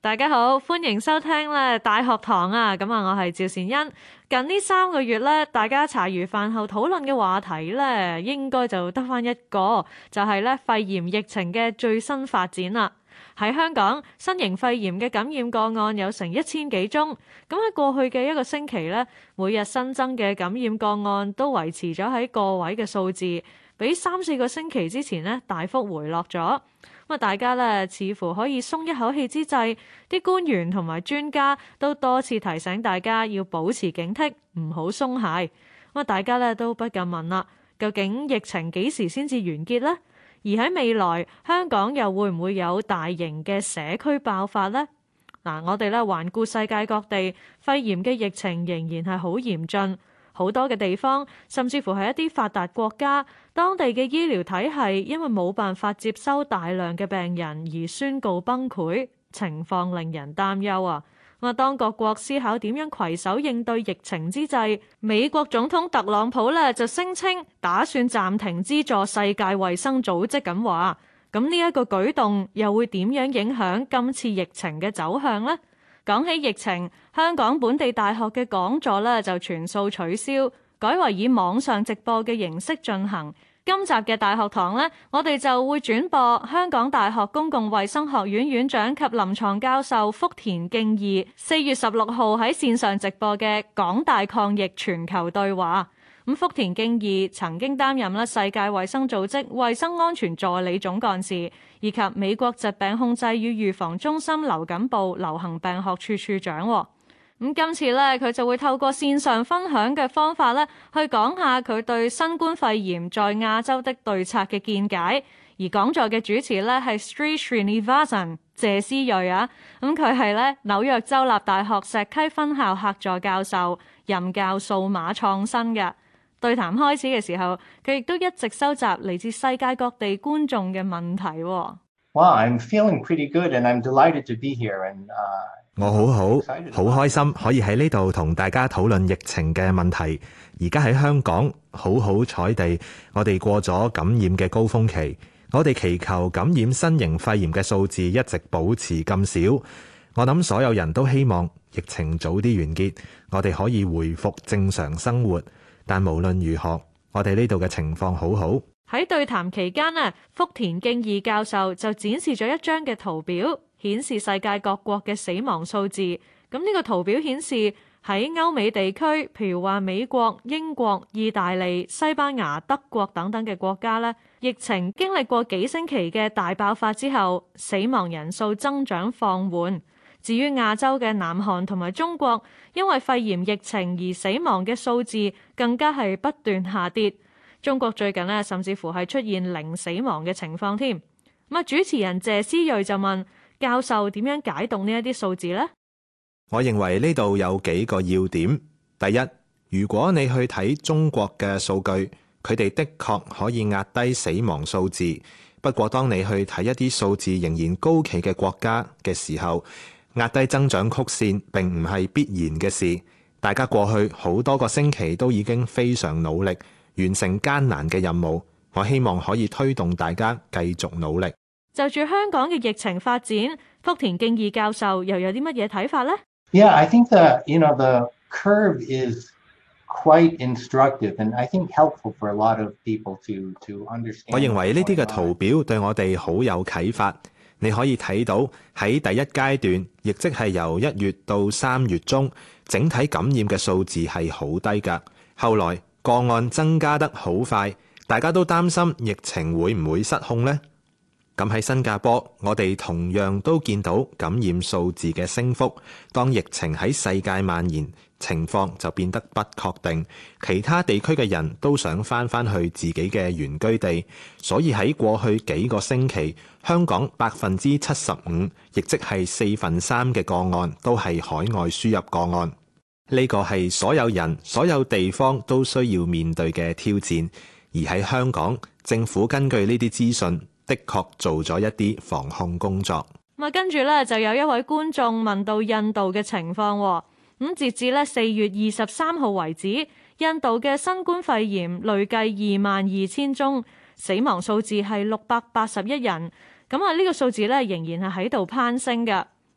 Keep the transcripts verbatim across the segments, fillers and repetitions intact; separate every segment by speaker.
Speaker 1: 大家好，歡迎收聽咧大學堂啊！咁啊，我係趙善恩。近呢三個月咧，大家茶餘飯後討論嘅話題咧，應該就得返一個，就係咧肺炎疫情嘅最新發展啦。喺香港，新型肺炎嘅感染個案有成一千幾宗。咁喺過去嘅一個星期咧，每日新增嘅感染個案都維持咗喺個位嘅數字，比三四個星期之前咧大幅回落咗。咁啊，大家咧似乎可以鬆一口氣之際，啲官員同埋專家都多次提醒大家要保持警惕，唔好鬆懈。咁啊，大家咧都不禁問啦，究竟疫情幾時先至完結呢？而喺未來，香港又會唔會有大型嘅社區爆發呢？嗱，我哋咧環顧世界各地，肺炎嘅疫情仍然係好嚴峻，好多嘅地方，甚至乎係一啲發達國家，當地嘅醫療體系因為冇辦法接收大量嘅病人而宣告崩潰，情況令人擔憂啊！咁啊，當各國思考點樣攜手應對疫情之際，美國總統特朗普咧就聲稱打算暫停資助世界衛生組織咁話。咁呢一個舉動又會點樣影響今次疫情嘅走向呢？講起疫情，香港本地大學嘅講座咧就全數取消，改為以網上直播嘅形式進行。今集嘅大學堂呢，我哋就會轉播香港大學公共衛生學院院長及臨床教授福田敬二四月十六號喺線上直播嘅港大抗疫全球對話。咁福田敬二曾經擔任咧世界衛生組織衛生安全助理總幹事，以及美國疾病控制與預防中心流感部流行病學處處長。咁今次咧，佢就會透過線上分享嘅方法咧，去講下佢對新冠肺炎在亞洲的對策嘅見解。而講座嘅主持咧係 Sri Srinivasan 謝思睿啊，咁佢係咧紐約州立大學石溪分校客座教授，任教數碼創新嘅。對談開始嘅時候，佢亦都一直收集嚟自世界各地觀眾嘅問題。
Speaker 2: Wow, I'm feeling pretty good, and I'm delighted to be here. And, uh,
Speaker 3: 我好好，好開心可以喺呢度同大家討論疫情嘅問題。而家喺香港，好好彩地，我哋過咗感染嘅高峰期。我哋祈求感染新型肺炎嘅數字一直保持咁少。我諗所有人都希望疫情早啲完結，我哋可以回復正常生活。但無論如何，我哋呢度嘅情況好好。
Speaker 1: 喺對談期間呢，福田敬二教授就展示咗一張嘅圖表，顯示世界各國嘅死亡數字。咁呢個圖表顯示喺歐美地區，譬如話美國、英國、意大利、西班牙、德國等等嘅國家呢，疫情經歷過幾星期嘅大爆發之後，死亡人數增長放緩。至於亞洲嘅南韓同埋中國，因為肺炎疫情而死亡嘅數字更加係不斷下跌。中國最近呢，甚至乎係出現零死亡嘅情況添。咁啊，主持人謝思睿就問教授點樣解讀呢一啲數字呢？
Speaker 3: 我認為呢度有幾個要點。第一，如果你去睇中國嘅數據，佢哋的確可以壓低死亡數字。不過當你去睇一啲數字仍然高企嘅國家嘅時候，壓低增長曲線並唔係必然嘅事。大家過去好多個星期都已經非常努力，完成艱難嘅任務。我希望可以推動大家繼續努力。
Speaker 1: 就住香港嘅疫情發展，福田敬二教授又有啲乜嘢睇法呢？
Speaker 2: Yeah, I think the, you know, the curve is quite instructive, and I think helpful for a lot of people to, to understand.
Speaker 3: 我認為呢啲嘅圖表對我哋好有啟發。你可以睇到喺第一階段，亦即係由一月到三月中，整體感染嘅數字係好低㗎。後來個案增加得好快，大家都擔心疫情會唔會失控呢？咁喺新加坡，我哋同樣都見到感染數字嘅升幅。當疫情喺世界蔓延，情況就變得不確定。其他地區嘅人都想返返去自己嘅原居地，所以喺過去幾個星期，香港百分之七十五，亦即係四分三嘅個案都係海外輸入個案。呢個係所有人、所有地方都需要面對嘅挑戰。而喺香港，政府根據呢啲資訊，的確做咗一啲防控工作。
Speaker 1: 咁啊，跟住咧就有一位觀眾問到印度嘅情況。咁截至咧四月二十三號為止，印度嘅新冠肺炎累計二萬二千宗，死亡數字係六百八十一人。咁啊，呢個數字咧仍然係喺度攀升嘅。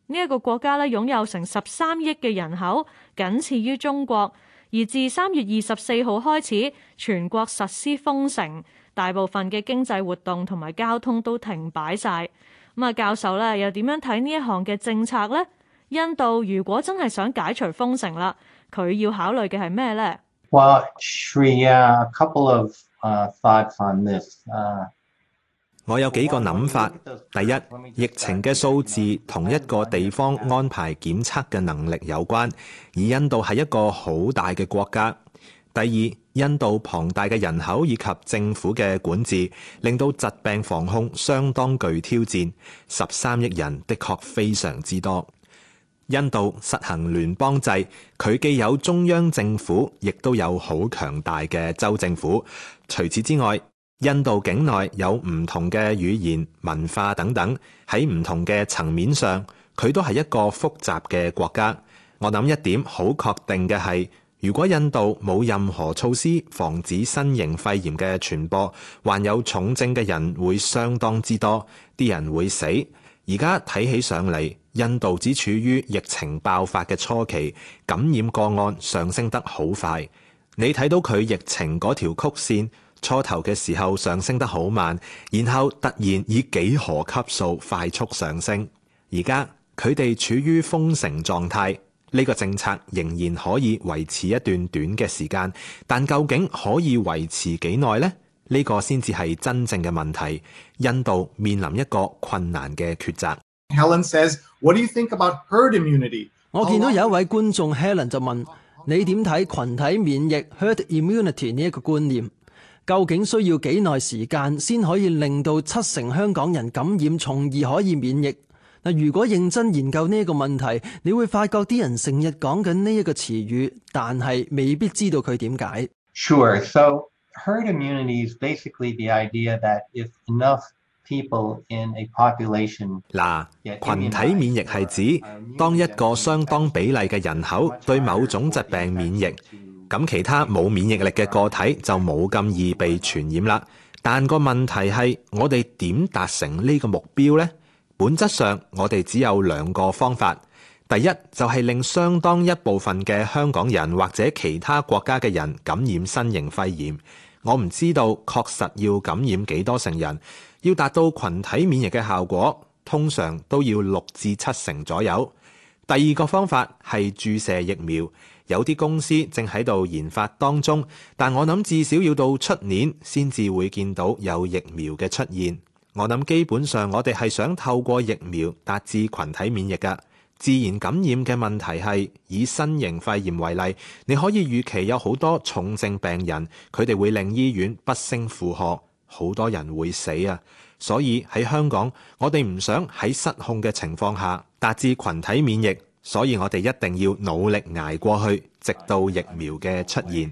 Speaker 1: 呢一個國家咧擁有成十三億嘅人口，僅次於中國。而自三月二十四號開始，全國實施封城，大部分嘅經濟活動同埋交通都停擺晒。咁啊，教授咧又點樣睇呢一項嘅政策呢？印度如果真係想解除封城啦，佢要考慮嘅係咩呢？
Speaker 2: Well, Shreya, a couple of uh, thoughts on this. Uh,
Speaker 3: 我有幾個諗法。第一，疫情嘅數字同一個地方安排檢測嘅能力有關，而印度係一個好大嘅國家。第二，印度龐大嘅人口以及政府嘅管治，令到疾病防控相當具挑戰。十三億人的確非常之多。印度實行聯邦制，佢既有中央政府，亦都有好強大嘅州政府。除此之外，印度境內有唔同嘅語言、文化等等，喺唔同嘅層面上，佢都係一個複雜嘅國家。我諗一點好確定嘅係，如果印度冇任何措施防止新型肺炎嘅傳播，患有重症嘅人會相當之多，啲人會死。而家睇起上嚟，印度只處於疫情爆發嘅初期，感染個案上升得好快。你睇到佢疫情嗰條曲線，初頭嘅時候上升得好慢，然後突然以幾何級數快速上升。而家佢哋處於封城狀態，呢個政策仍然可以維持一段短嘅時間，但究竟可以維持幾耐呢？呢個先至係真正嘅問題。印度面臨一個困難嘅抉擇。
Speaker 4: Helen says, "What do you think about herd immunity?"
Speaker 5: 我見到有一位觀眾 Helen 就問：你點睇群體免疫 herd immunity 呢一個觀念？究竟需要幾耐時間先可以令到七成香港人感染，從而可以免疫？嗱，如果認真研究呢一個問題，你會發覺啲人成日講緊呢一個詞語，但係未必知道佢點解。
Speaker 2: Sure. So herd immunity is basically the idea that if enough people in a population
Speaker 3: 嗱，群體免疫係指當一個相當比例嘅人口對某種疾病免疫，咁其他冇免疫力嘅個體就冇咁易被傳染啦。但個問題係，我哋點達成呢個目標呢？本質上，我哋只有兩個方法。第一就係令相當一部分嘅香港人或者其他國家嘅人感染新型肺炎。我唔知道確實要感染幾多成人，要達到群體免疫嘅效果，通常都要六至七成左右。第二個方法係注射疫苗，有啲公司正喺度研發當中，但我諗至少要到出年先至會見到有疫苗嘅出現。我諗基本上我哋係想透過疫苗達至群體免疫㗎。自然感染嘅問題係，以新型肺炎為例，你可以預期有好多重症病人，佢哋會令醫院不勝負荷，好多人會死啊！所以喺香港，我哋唔想喺失控嘅情況下達至群體免疫，所以我哋一定要努力捱過去，直到疫苗嘅出現。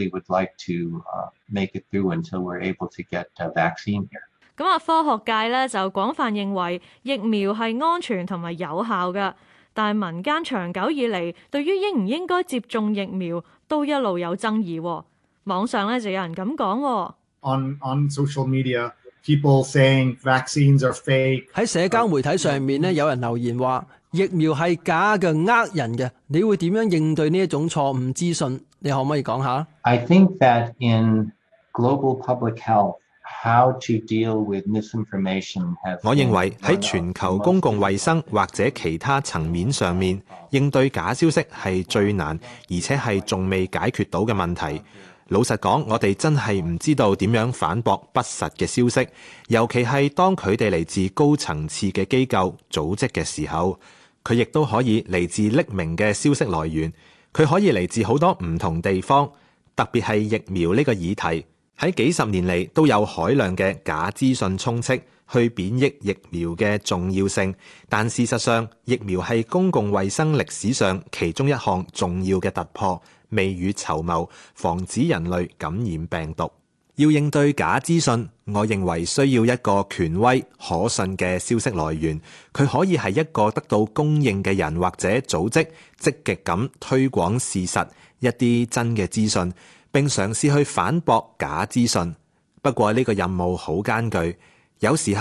Speaker 1: 咁啊，科學界咧就廣泛認為疫苗係安全同埋有效嘅，但係民間長久以嚟對於應唔應該接種疫苗都一路有爭議。網上咧就有人咁講。
Speaker 4: On on social media, people saying vaccines are fake.
Speaker 5: 喺社交媒體上面咧，有人留言話疫苗係假嘅、呃人嘅。你會點樣應對呢一種錯誤資訊？你可唔可以講下？
Speaker 2: I think that in global public health,How to deal with misinformation has
Speaker 3: 我認為喺全球公共衛生或者其他層面上面，應對假消息係最難，而且係仲未解決到嘅問題。老實講，我哋真係唔知道點樣反駁不實嘅消息，尤其係當佢哋嚟自高層次嘅機構組織嘅時候，佢亦都可以嚟自匿名嘅消息來源，佢可以嚟自好多唔同地方，特別係疫苗呢個議題。喺幾十年嚟都有海量嘅假資訊充斥，去貶抑疫苗嘅重要性。但事實上，疫苗係公共衛生歷史上其中一項重要嘅突破，未雨綢繆，防止人類感染病毒。要應對假資訊，我認為需要一個權威可信嘅消息來源，佢可以係一個得到公認嘅人或者組織，積極咁推廣事實，一啲真嘅資訊，並嘗試去反駁假資訊。不過呢個任務好艱巨，有時候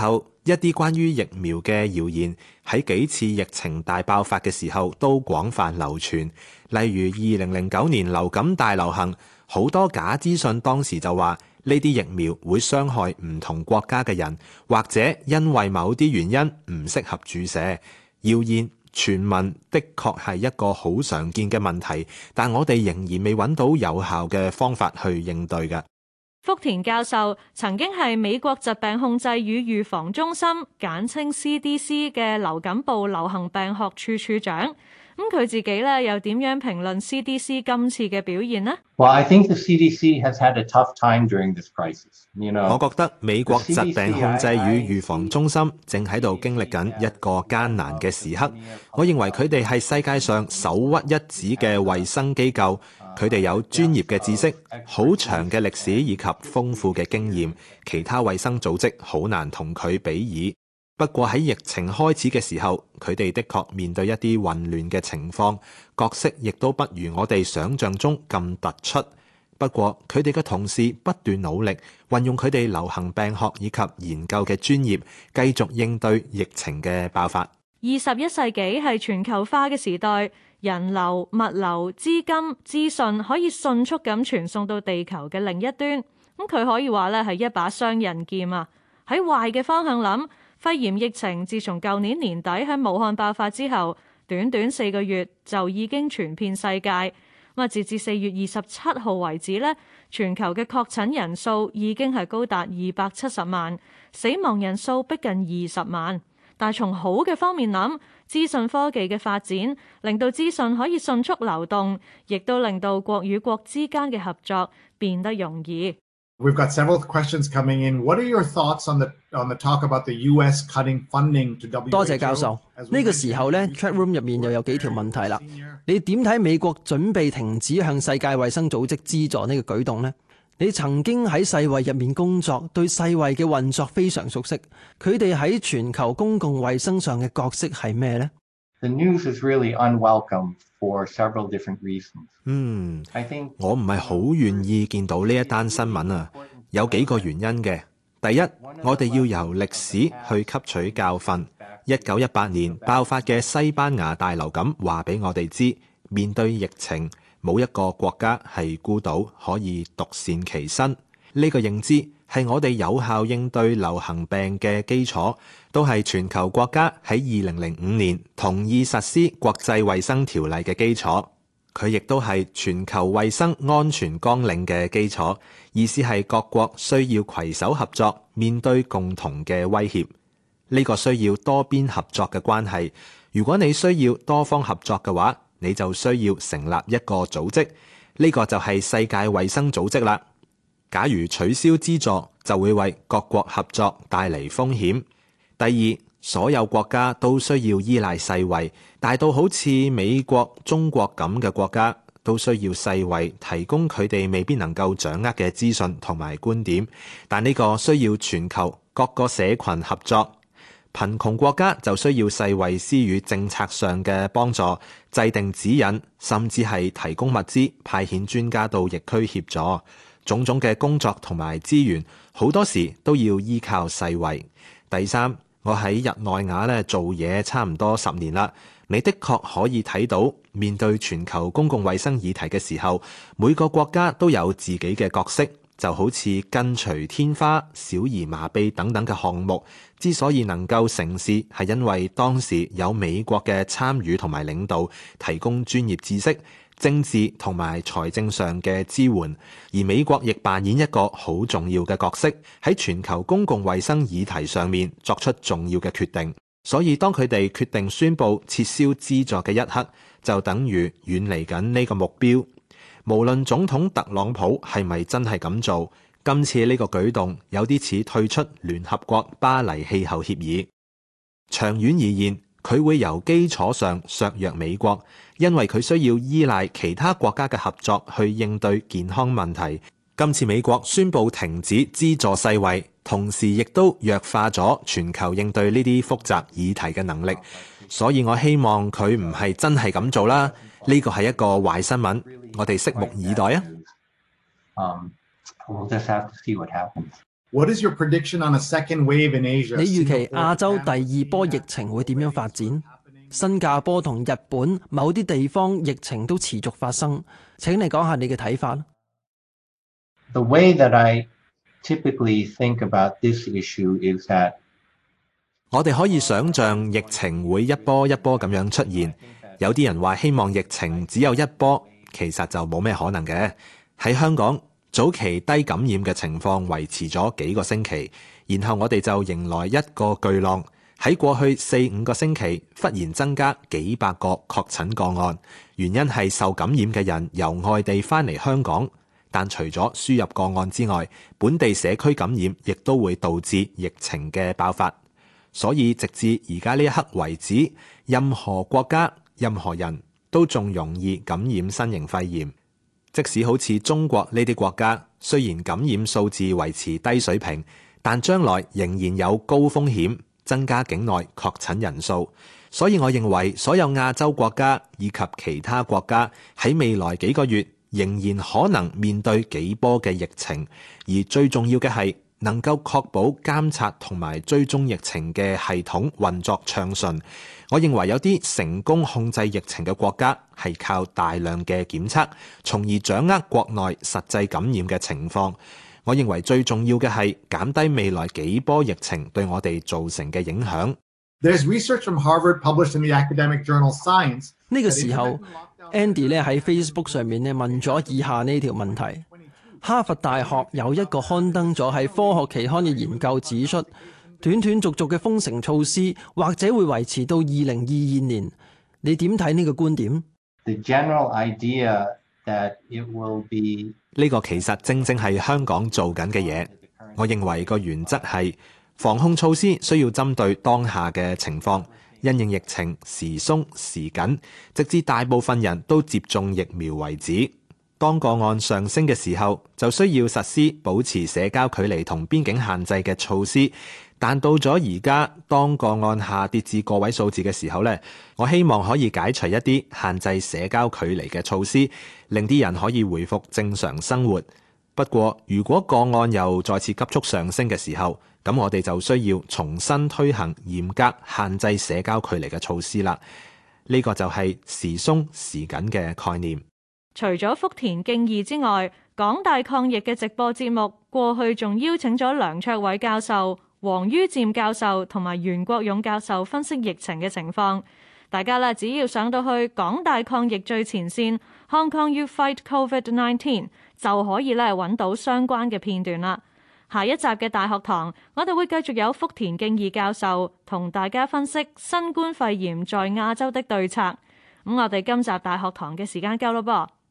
Speaker 3: 一啲關於疫苗嘅謠言喺幾次疫情大爆發嘅時候都廣泛流傳，例如二零零九年流感大流行，好多假資訊當時就話呢啲疫苗會傷害唔同國家嘅人，或者因為某啲原因唔適合注射。謠言傳聞的確係一個好常見嘅問題，但我哋仍然未揾到有效嘅方法去應對嘅。
Speaker 1: 福田教授曾經係美國疾病控制與預防中心簡稱 C D C 嘅流感部流行病學處處長。咁佢自己咧又點樣評論 C D C 今次嘅表現呢？
Speaker 2: Well, I think the C D C has had a tough time during this crisis. You know,
Speaker 3: 我覺得美國疾病控制與預防中心正喺度經歷緊一個艱難嘅時刻。我認為佢哋係世界上首屈一指嘅衛生機構，佢哋有專業嘅知識、好長嘅歷史以及豐富嘅經驗，其他衛生組織好難同佢比擬。不過喺疫情開始嘅時候，佢哋的確面對一啲混亂嘅情況，角色亦都不如我哋想象中咁突出。不過佢哋嘅同事不斷努力，運用佢哋流行病學以及研究嘅專業，繼續應對疫情嘅爆發。
Speaker 1: 二十一世紀係全球化嘅時代，人流、物流、資金、資訊可以迅速咁傳送到地球嘅另一端。咁佢可以話咧係一把雙刃劍啊！喺壞嘅方向諗，肺炎疫情自從舊年年底喺武漢爆發之後，短短四個月就已經傳遍世界。咁啊，截至四月二十七號為止咧，全球嘅確診人數已經係高達二百七十萬，死亡人數逼近二十萬。但係從好嘅方面諗，資訊科技嘅發展令到資訊可以迅速流動，亦都令到國與國之間嘅合作變得容易。
Speaker 4: We've got several questions coming in. What are your thoughts on the on the talk about the U S cutting funding to W H O?
Speaker 5: 多謝教授。呢個時候咧 ，chat room 入面又有幾條問題啦。你點睇美國準備停止向世界衛生組織資助呢個舉動呢？你曾經喺世衛入面工作，對世衛嘅運作非常熟悉。佢哋喺全球公共衛生上嘅角色係咩呢？
Speaker 2: The news is really unwelcome for several different reasons.
Speaker 3: 嗯，
Speaker 2: I think
Speaker 3: 我唔係好願意見到呢一單新聞啊，有幾個原因嘅。第一，我哋要由歷史去吸取教訓。一九一八年爆發嘅西班牙大流感話俾我哋知，面對疫情，冇一個國家係孤島可以獨善其身。呢個認知係我哋有效應對流行病嘅基礎，都係全球國家喺二零零五年同意實施國際衛生條例嘅基礎。佢亦都係全球衛生安全綱領嘅基礎，意思係各國需要攜手合作，面對共同嘅威脅。呢個需要多邊合作嘅關係。如果你需要多方合作嘅話，你就需要成立一個組織，呢個就係世界衛生組織啦。假如取消資助，就會為各國合作帶嚟風險。第二，所有國家都需要依賴世衛，大到好似美國、中國咁嘅國家，都需要世衛提供佢哋未必能夠掌握嘅資訊同埋觀點。但呢個需要全球各個社群合作。貧窮國家就需要世衛施予政策上嘅幫助，制定指引，甚至係提供物資，派遣專家到疫區協助。種種嘅工作同埋資源，好多時都要依靠世衛。第三，我喺日內瓦咧做嘢差唔多十年啦，你的確可以睇到，面對全球公共衛生議題嘅時候，每個國家都有自己嘅角色。就好似根除天花、小兒麻痹等等嘅項目，之所以能夠成事，係因為當時有美國嘅參與同埋領導，提供專業知識、政治同埋財政上嘅支援，而美國亦扮演一個好重要嘅角色，喺全球公共衛生議題上面作出重要嘅決定。所以當佢哋決定宣布撤銷資助嘅一刻，就等於遠離緊呢個目標。無論總統特朗普係咪真係咁做，今次呢個舉動有啲似退出聯合國巴黎氣候協議。長遠而言，佢會由基礎上削弱美國，因為佢需要依賴其他國家嘅合作去應對健康問題。今次美國宣布停止資助世衛，同時亦都弱化咗全球應對呢啲複雜議題嘅能力。所以我希望佢唔係真係咁做啦。呢個係一個壞新聞，我哋拭目以待啊！
Speaker 2: Um, we'll just have to see what happens.
Speaker 4: What is your prediction on a second wave in Asia?
Speaker 5: 你預期亞洲第二波疫情會點樣發展？新加坡同日本某啲地方疫情都持續發生，請你講下你嘅睇法。
Speaker 2: The way that I typically think about this issue is that
Speaker 3: 我哋可以想像疫情會一波一波咁樣出現。有啲人話希望疫情只有一波，其實就冇咩可能嘅。喺香港，早期低感染嘅情況維持咗幾個星期，然後我哋就迎來一個巨浪。喺過去四五個星期，忽然增加幾百個確診個案，原因係受感染嘅人由外地返嚟香港。但除咗輸入個案之外，本地社區感染亦都會導致疫情嘅爆發。所以直至而家呢一刻為止，任何國家、任何人都仲容易感染新型肺炎。即使好似中國呢啲國家，雖然感染數字維持低水平，但將來仍然有高風險增加境內確診人數。所以我認為所有亞洲國家以及其他國家喺未來幾個月仍然可能面對幾波嘅疫情，而最重要嘅係能夠確保監察同埋追蹤疫情嘅系統運作暢順。我認為有啲成功控制疫情嘅國家係靠大量嘅檢測，從而掌握國內實際感染嘅情況。我認為最重要嘅係減低未來幾波疫情對我哋造成嘅影響。
Speaker 4: There's research from Harvard published in the academic journal Science.
Speaker 5: 呢個時候 ，Andy 咧喺 Facebook 上面咧問咗以下呢條問題。哈佛大學有一個刊登咗喺科學期刊嘅研究指出，斷斷續續嘅封城措施或者會維持到二零二二年。你點睇呢個觀點？
Speaker 2: the general idea that it will be
Speaker 3: 呢個其實正正係香港做緊嘅嘢。我認為個原則係防控措施需要針對當下嘅情況，因應疫情時鬆時緊，直至大部分人都接種疫苗為止。當個案上升嘅時候，就需要實施保持社交距離同邊境限制嘅措施。但到咗而家，當個案下跌至個位數字嘅時候呢，我希望可以解除一啲限制社交距離嘅措施，令啲人可以回復正常生活。不過，如果個案又再次急速上升嘅時候，咁我哋就需要重新推行嚴格限制社交距離嘅措施啦。呢個就係時鬆時緊嘅概念。
Speaker 1: 除咗福田敬二之外，港大抗疫嘅直播節目過去仲邀請咗梁卓偉教授、黃于漸教授同埋袁國勇教授分析疫情嘅情況。大家咧只要上到去港大抗疫最前線 Hong Kong You Fight COVID nineteen 就可以咧揾到相關嘅片段啦。下一集嘅大學堂，我哋會繼續有福田敬二教授同大家分析新冠肺炎在亞洲的對策。咁我哋今集大學堂嘅時間夠咯噃。